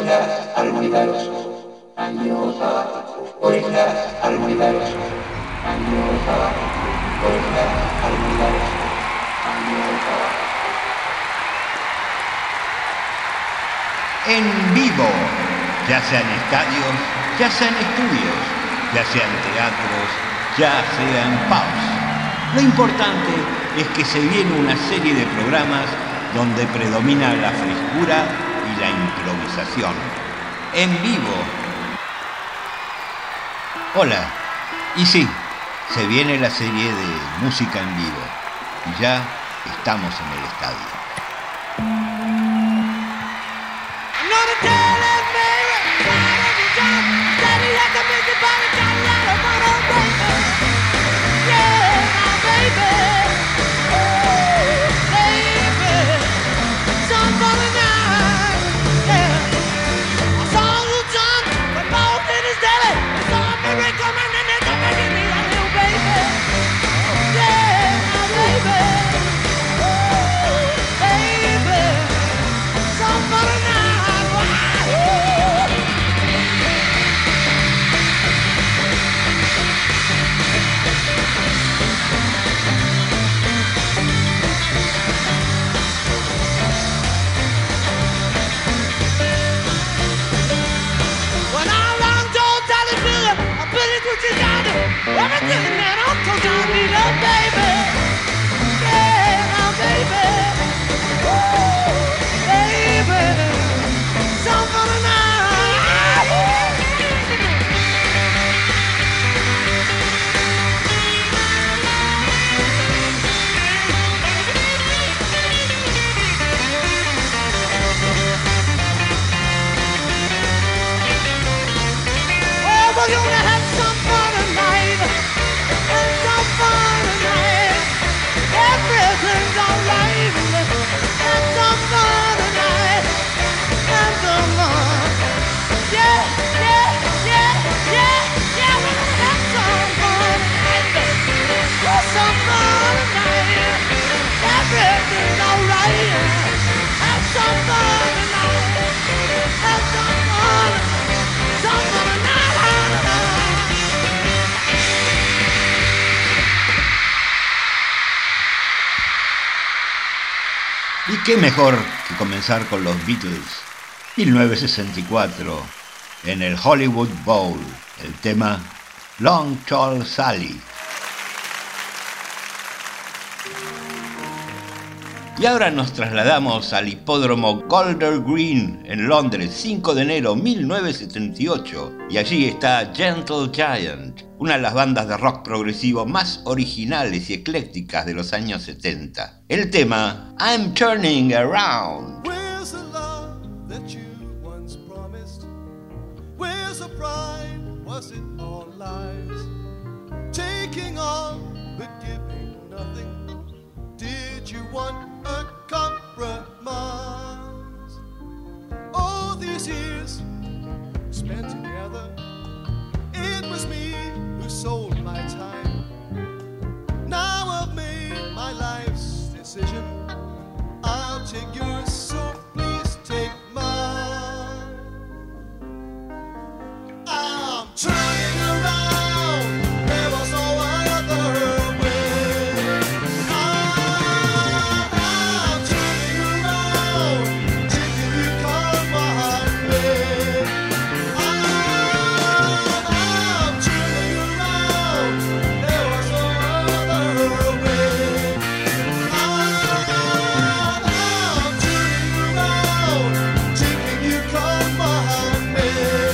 En vivo, ya sean estadios, ya sean estudios, ya sean teatros, ya sean pubs. Lo importante es que se viene una serie de programas donde predomina la frescura y la improvisación. En vivo. Hola, y sí, se viene la serie de música en vivo y ya estamos en el estadio. Everything that I'm told I need a baby. Yeah, now baby. Ooh, baby. Some for the night. Oh, we're gonna have some fun tonight. Some fun tonight. Everything's alright. Have some fun tonight. Have some fun. Yeah, yeah, yeah, yeah, yeah. We're gonna have some fun tonight. Have some fun tonight. Everything's alright. Have some fun tonight. Have some fun. Some fun tonight. Y qué mejor que comenzar con los Beatles. 1964, en el Hollywood Bowl, el tema Long Tall Sally. Y ahora nos trasladamos al hipódromo Golders Green en Londres, 5 de enero 1978. Y allí está Gentle Giant, una de las bandas de rock progresivo más originales y eclécticas de los años 70. El tema I'm Turning Around. Where's the love that you once promised? Where's the pride? Was it all lies? Taking all but giving nothing. Did you want a compromise? All these years spent together, it was me who sold my time. Now I've made my life's decision. I'll take yours, so please take mine. I'm turning around. There was no other way. I'm turning around, taking you come my way. I'm turning around. There was no other way. I'm turning around, taking you come my way.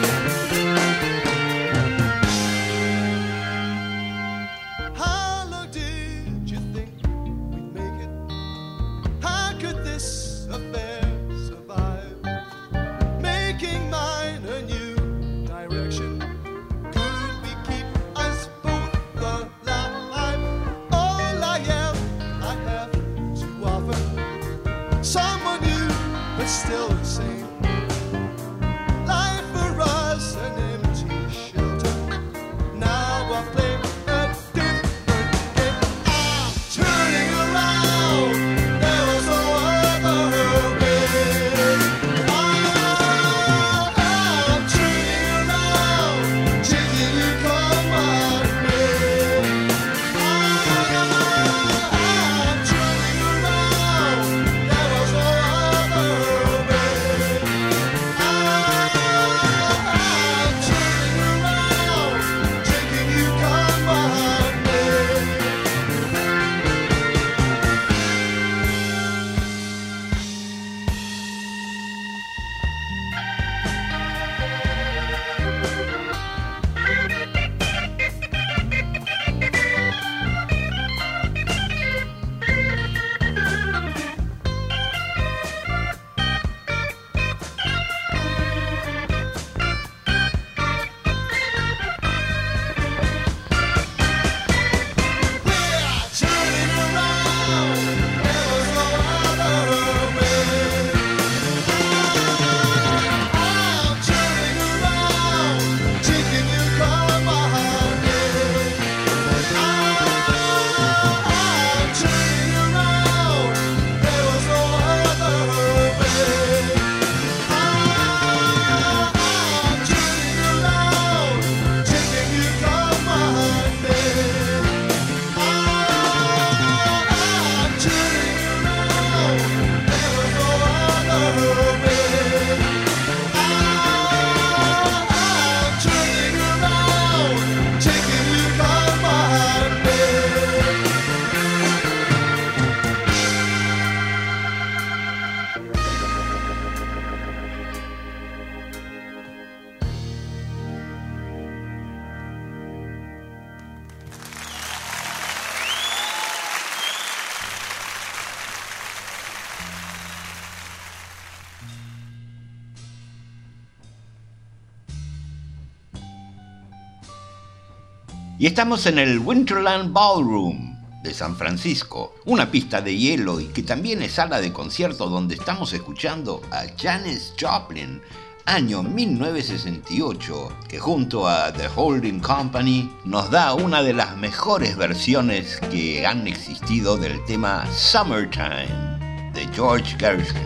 How long did you think we'd make it? How could this affair survive? Making mine a new direction. Could we keep us both alive? All I have to offer. Someone new, but still the same. Life for us, an empty shelter. Now I play a different game. I'm turning around. There was no other way. I'm Y estamos en el Winterland Ballroom de San Francisco, una pista de hielo y que también es sala de concierto donde estamos escuchando a Janis Joplin, año 1968, que junto a The Holding Company nos da una de las mejores versiones que han existido del tema Summertime de George Gershwin.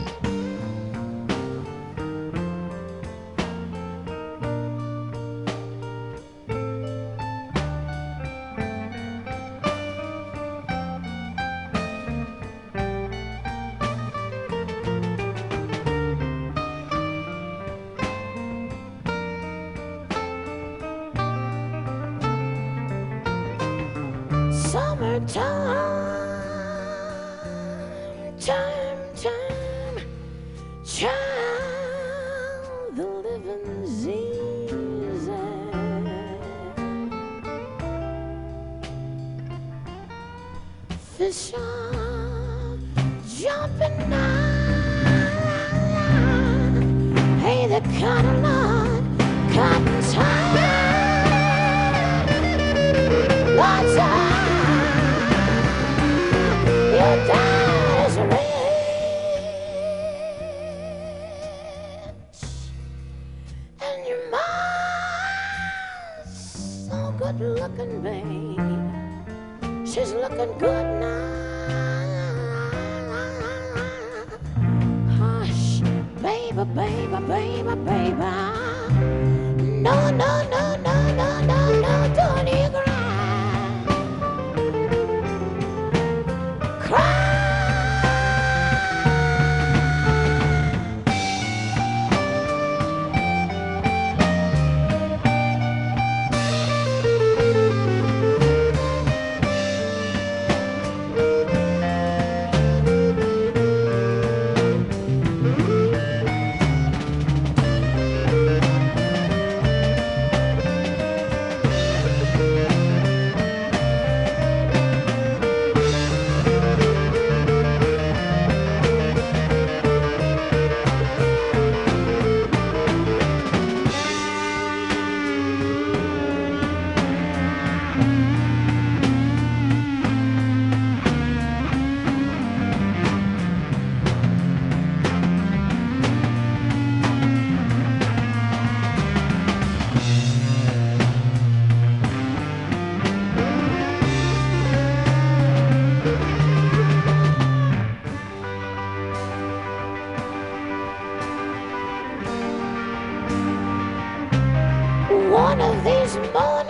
One of these mornings,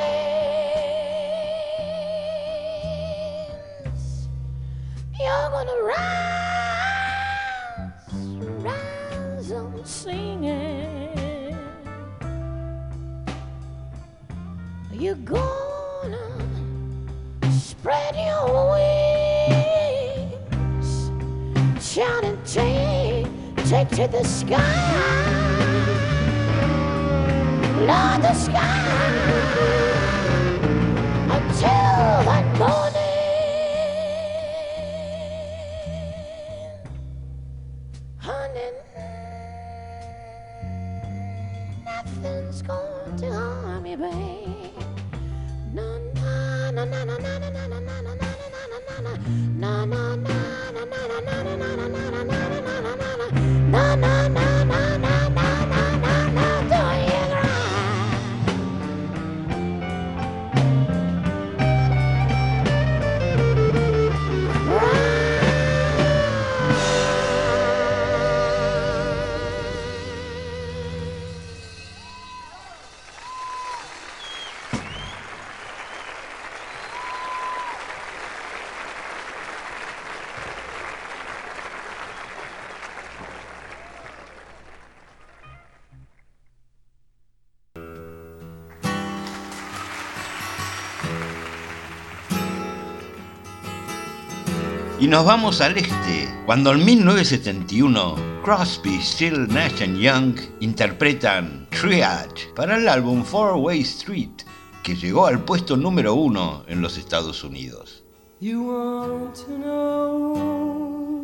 you're gonna rise on singing. You're gonna spread your wings, shout and take to the sky. Lord, the sky until that morning, honey, nothing's going to harm you, babe. No, no, no, no, no, no, no, no, no, no, no, no, no, no, no. Y nos vamos al este, cuando en 1971 Crosby, Still, Nash Young interpretan Triad para el álbum Four Way Street, que llegó al puesto número 1 en los Estados Unidos. You want to know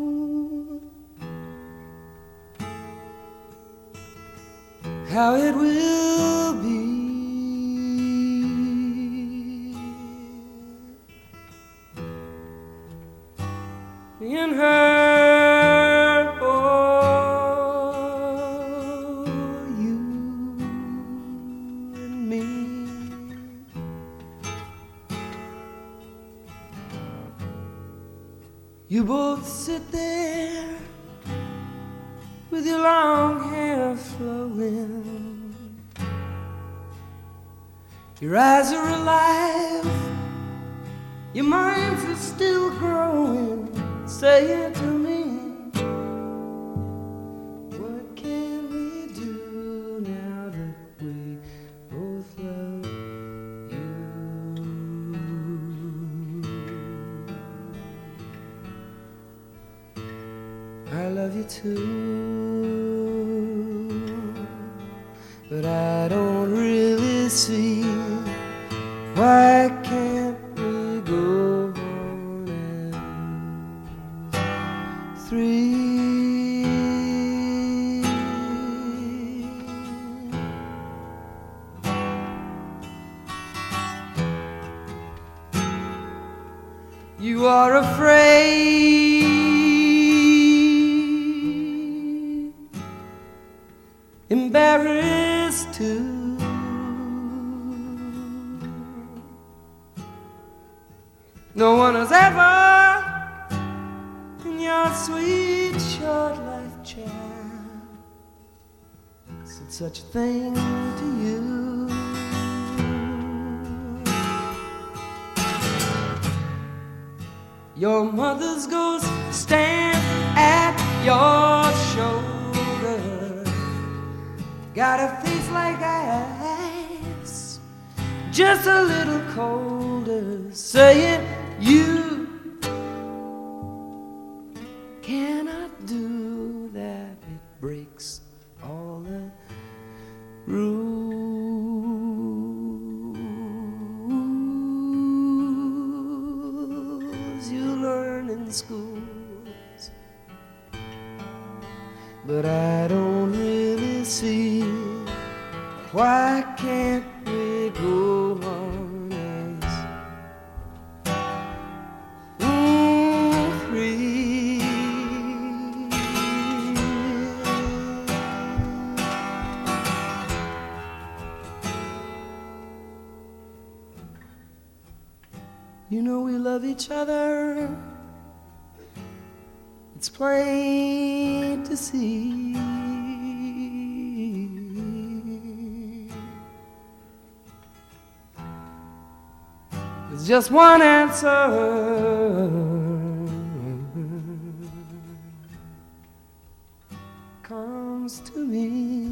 how it will be in her or you and me. You both sit there with your long hair flowing. Your eyes are alive, your minds are still growing. Say it to me. What can we do now that we both love you? I love you too, but I don't really see why can't we go on as three. You are afraid, embarrassed too. No one has ever, in your sweet short life, child, said such a thing to you. Your mother's ghost stand at your shoulder, got a face like ice, just a little colder, saying you cannot do that. It breaks all the rules you learn in schools, but I don't really see why can't we go on as free. You know we love each other, it's plain to see. There's just one answer comes to me.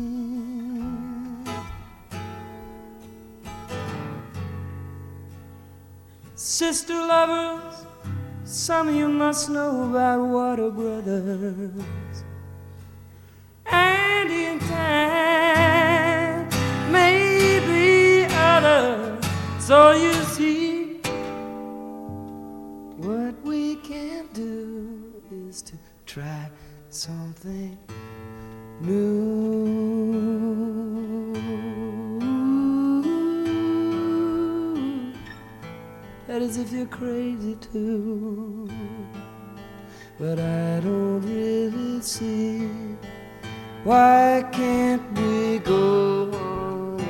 Sister lovers, some of you must know about water brothers. And in time, maybe others. So you see, what we can do is to try something new. That is if you're crazy too, but I don't really see why can't we go on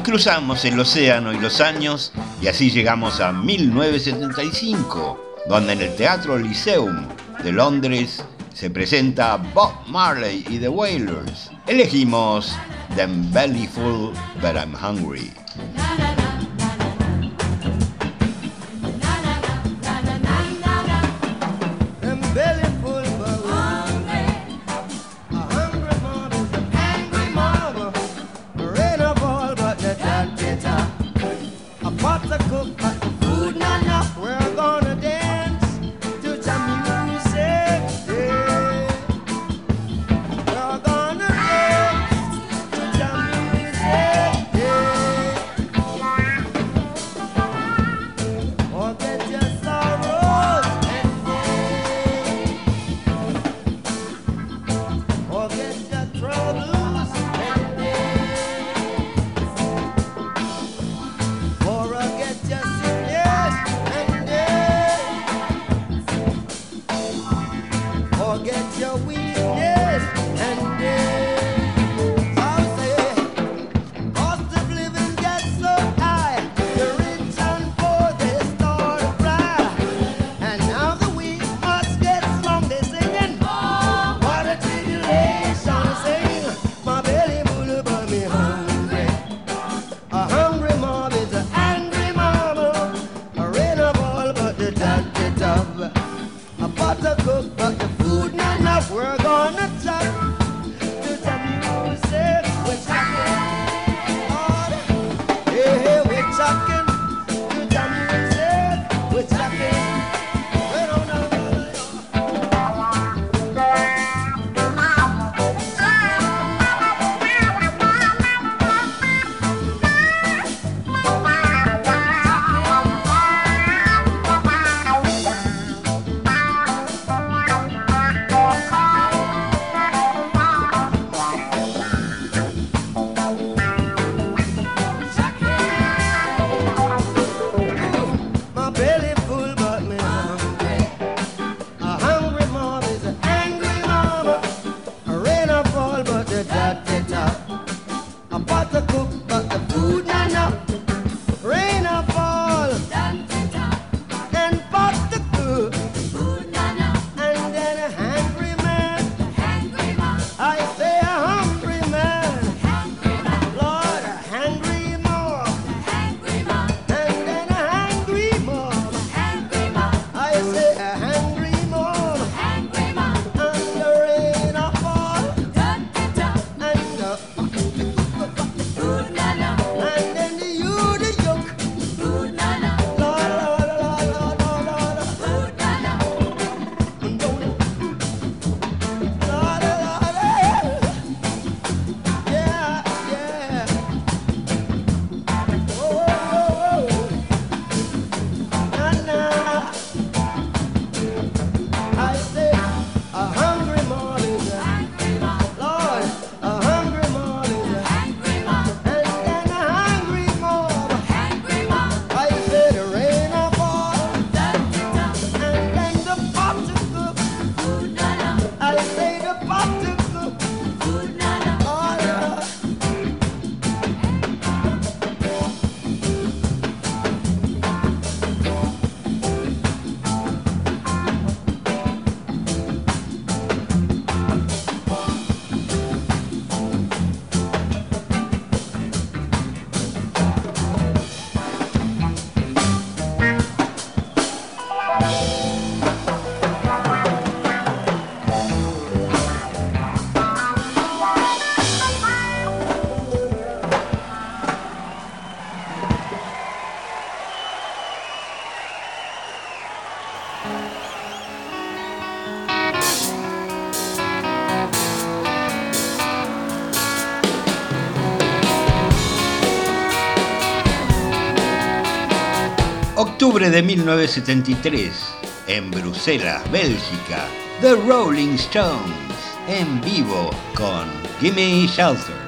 cruzamos el océano y los años y así llegamos a 1975, donde en el Teatro Lyceum de Londres se presenta Bob Marley y The Wailers. Elegimos I'm Belly Full But I'm Hungry. Octubre de 1973, en Bruselas, Bélgica, The Rolling Stones, en vivo con Gimme Shelter.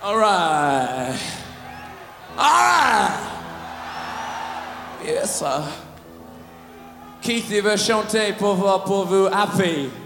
All right. All right. Yes, sir. Keith, il veut chanter pour vous, Happy.